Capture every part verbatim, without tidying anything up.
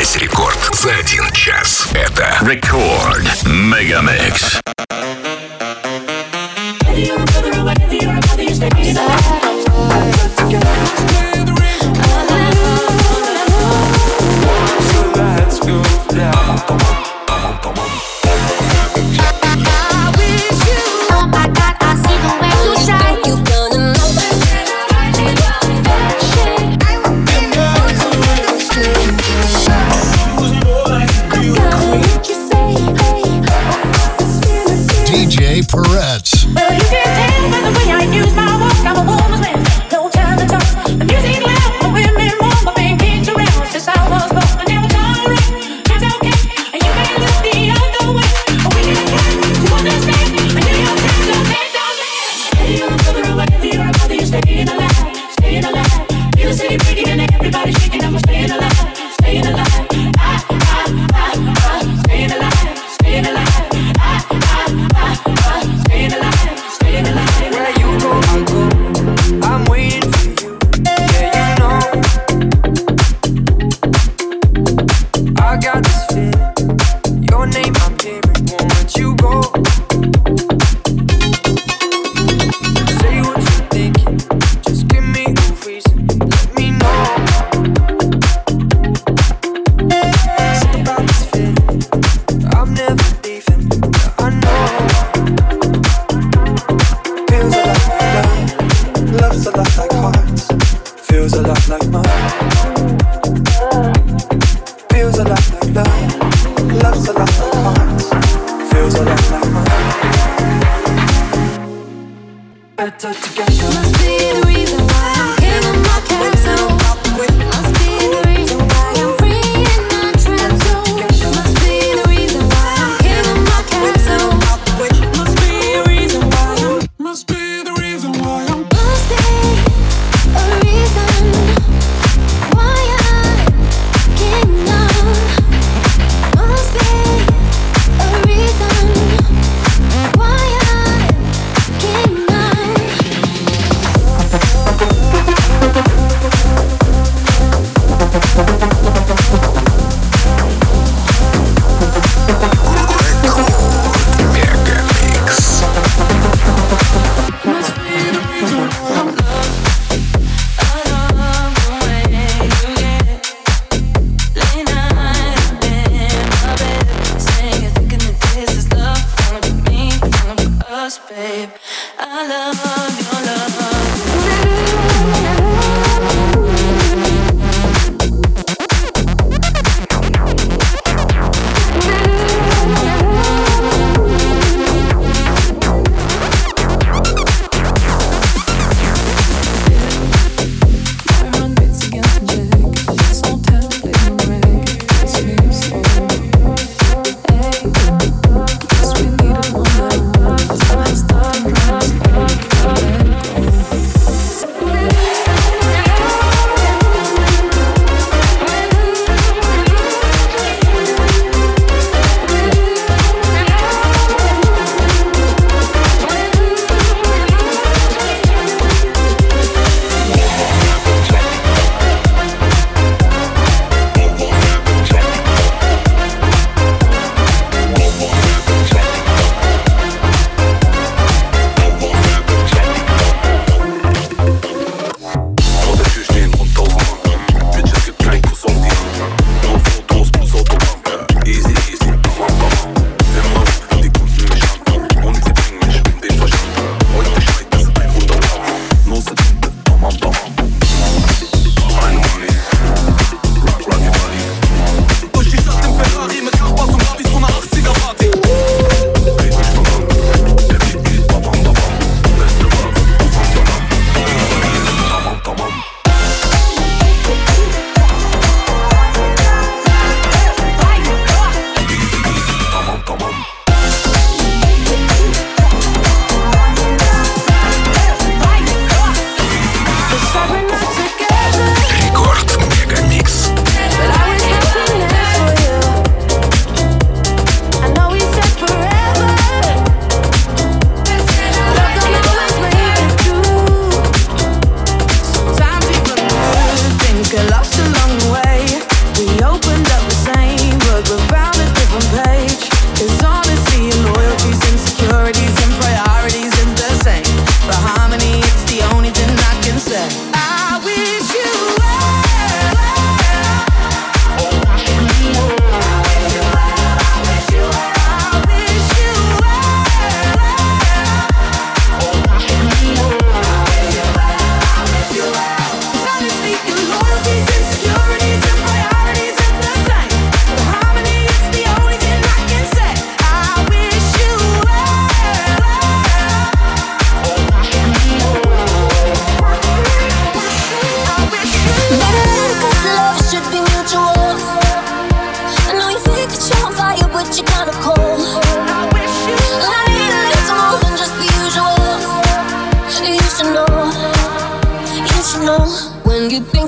Весь рекорд за один час. Это Рекорд Мегамикс. Let's go down. Come on, come on. ди джей Peretz. Well, you can tell by the way I use my voice. I'm a woman's man. No time to talk. The music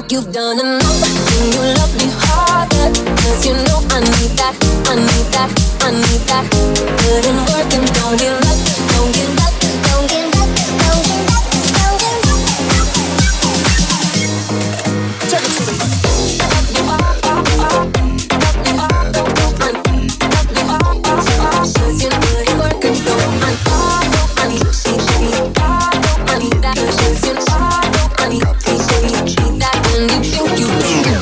you've done enough. Can you love me harder? Cause you know I need that, I need that, I need that. Put in work and don't give up, don't give up, don't give up, don't give up, don't give up. Check it to me. Cause you put in work and don't I know I need to baby. I need that. Cause you know I need to baby. Need that when you think you need it.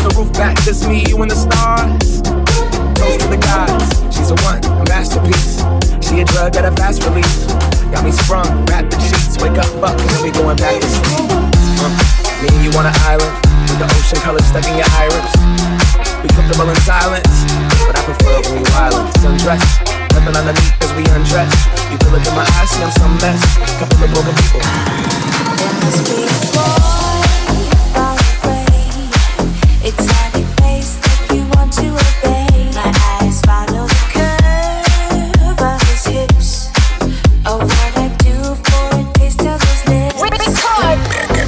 the roof back, just me, you and the stars. Toast to the gods, she's a one, a masterpiece. She a drug at a fast release. Got me sprung, wrapped in sheets. Wake up, buck, and then we going back to sleep. uh, Me and you on an island, with the ocean color stuck in your iris. We comfortable in silence, but I prefer when we violent. Sundress, nothing underneath as we undress. You can look in my eyes, see I'm some mess. Couple of broken people. There must be a boy far away. Exotic face that we want to obey. My eyes follow the curve of his hips. Oh, what I do for a taste of his lips. Record.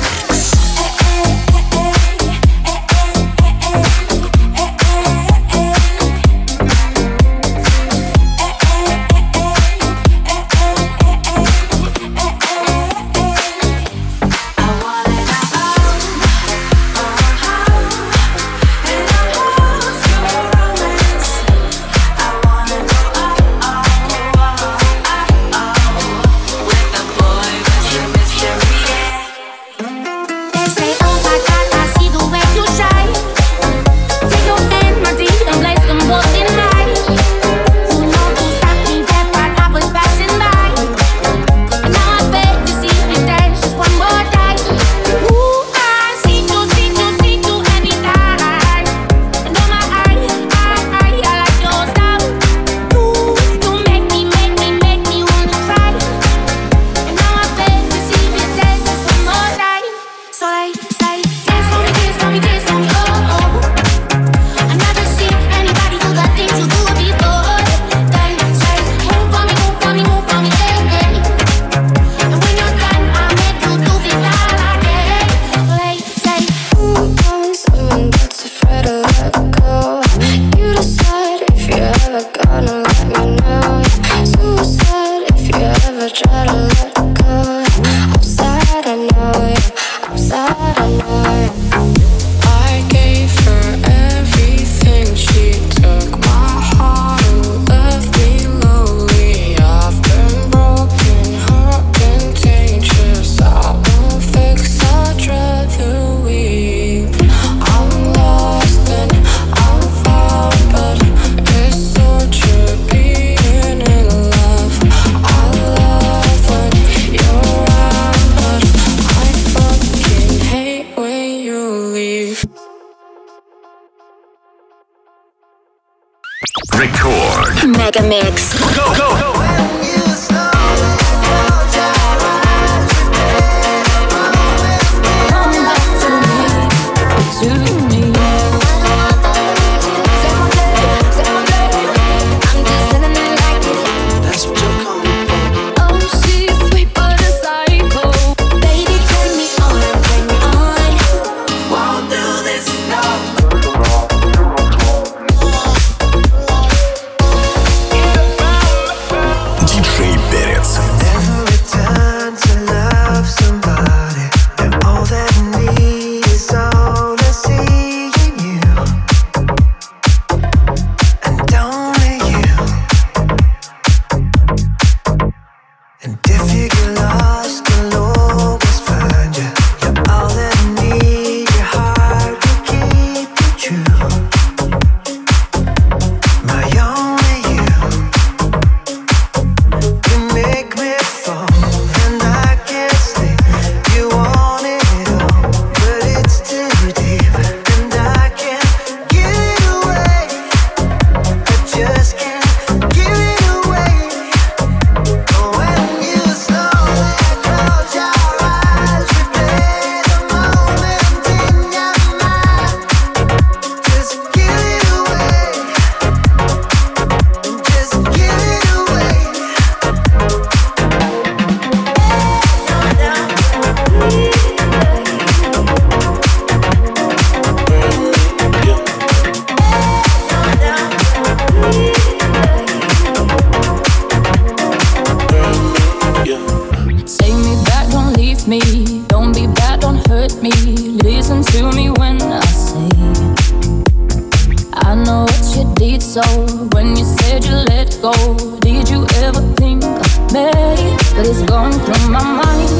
Record. Mega Mix. Go, go, go.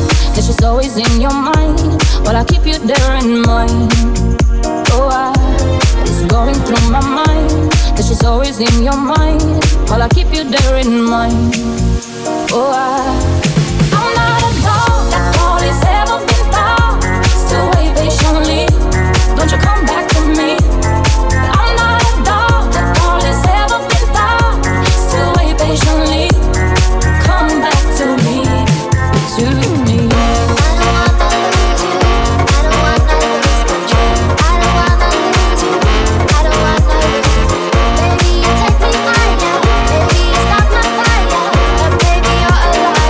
in your mind, while I keep you there in mind. Oh, I always in your mind, while I keep you there in mind. Oh, I, I'm not a dog that all is ever been found. Still wait patiently, don't you come back to me. I'm not a dog that all is ever been found. Still wait patiently, come back to me, to me. Baby, you take me higher. Baby, you stop my fire. But baby, you're alive.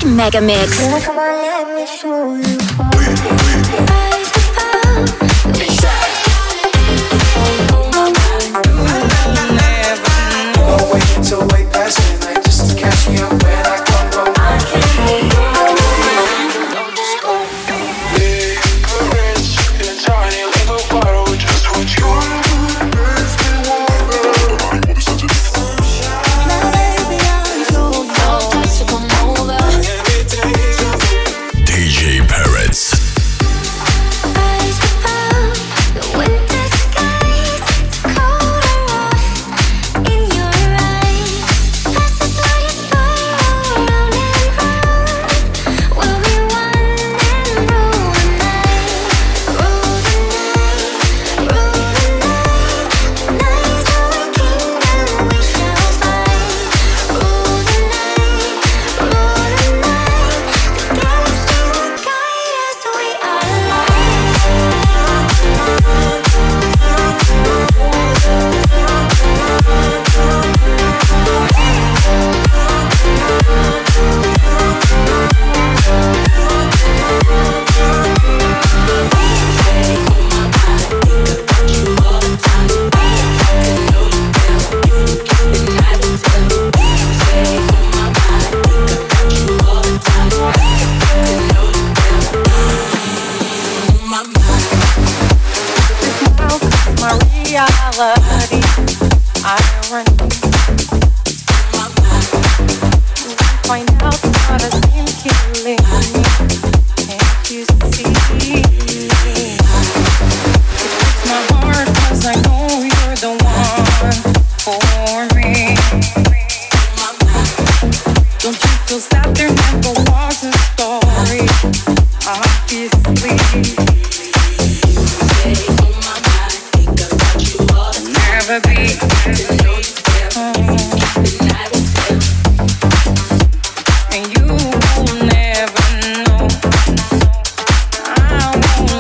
Billboard Mega Mix. Come on, let me show you. Wait until way past midnight just to catch me up when I come home. I can't hold on. Don't just go. Big, rich, and tiny little bottle, just what you want. D J Parrots. And you will never know. I won't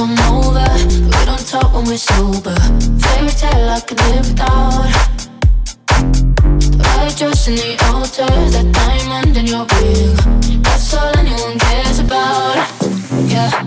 come over. We don't talk when we're sober. Fairy tale I could live without. The white dress and the altar, that diamond in your ring, that's all anyone cares about. Yeah.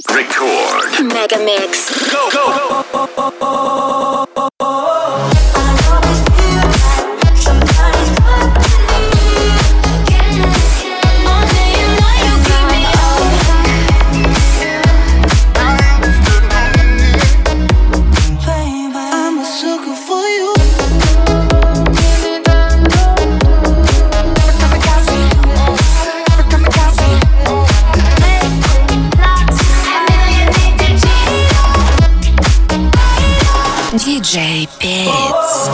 Record. Mega Mix. Go, go. ди джей Perez.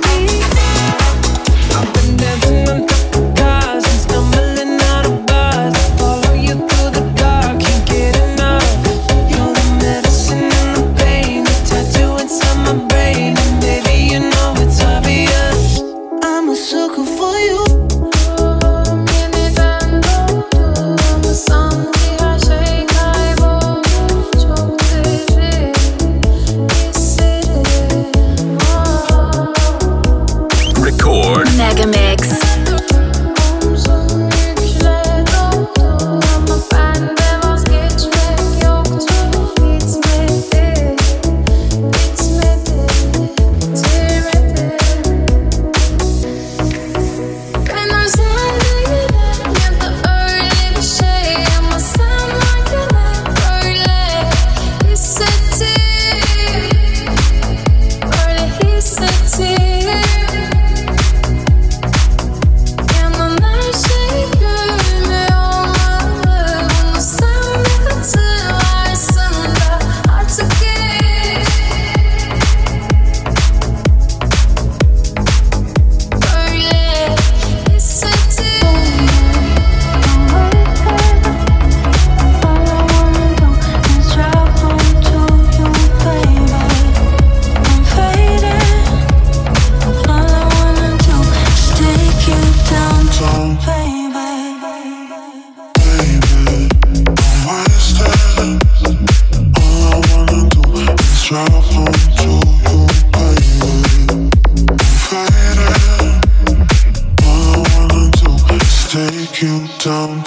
Cars and stumbling out of bars.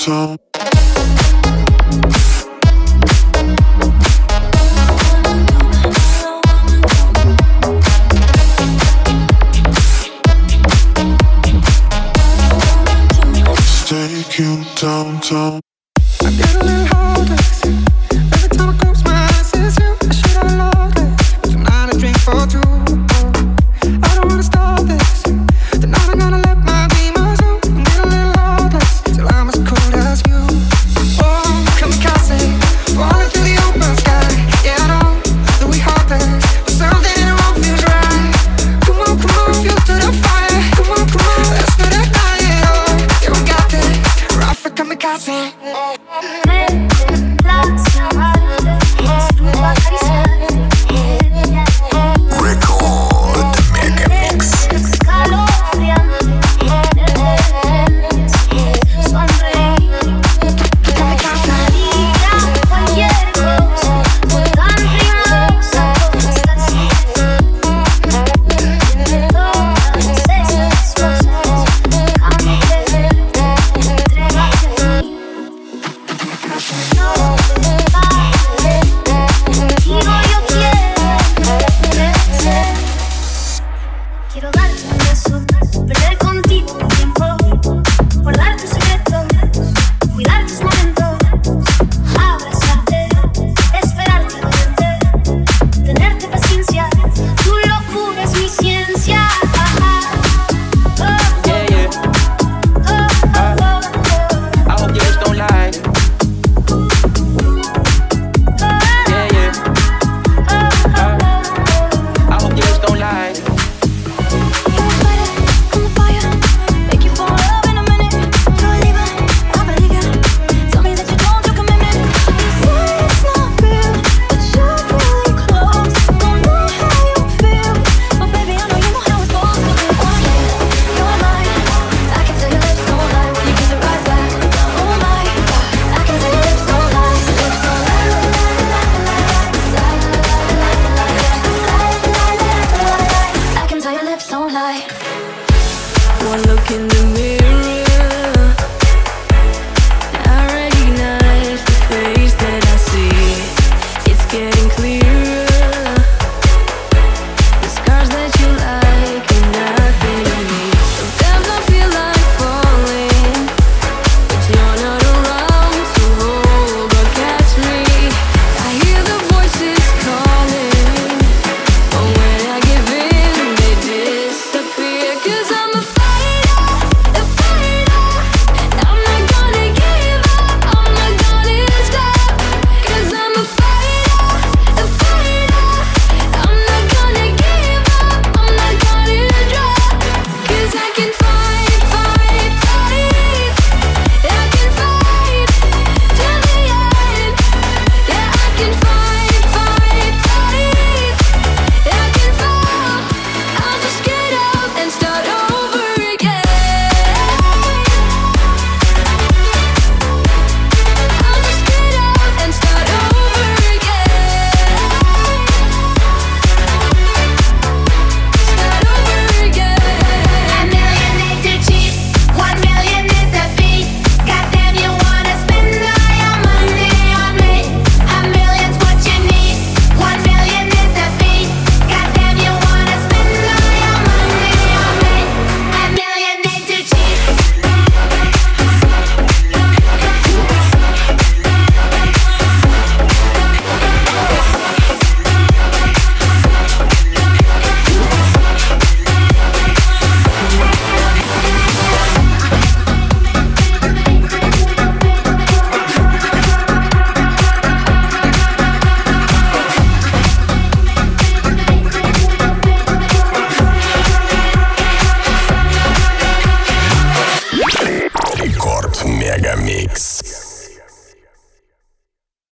downtown. Take you downtown. I get a little heartless every time I close my eyes. It's you. I should have loved it, but tonight I drink for two. I don't wanna stop this. Tonight I'm gonna let my demons out and get a little heartless till I'm as cold as you. Oh, kamikaze, falling through the open sky. Yeah, I know that we heartless, but something in the wrong feels right. Come on, come on, feel to the fire. Come on, come on, let's do that night. Oh, yeah, we got this. Rough for kamikaze. Mente, la, se amarre, es tu acaricia.